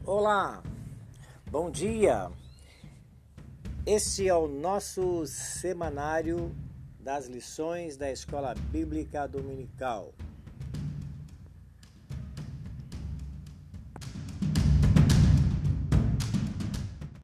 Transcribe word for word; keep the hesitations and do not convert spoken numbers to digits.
Olá, bom dia. Este é o nosso semanário das lições da Escola Bíblica Dominical.